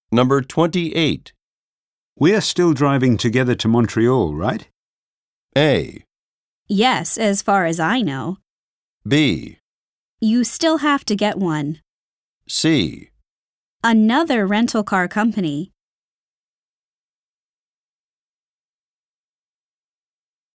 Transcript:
Number 28. We're still driving together to Montreal, right? A. Yes, as far as I know. B. You still have to get one. C. Another rental car company.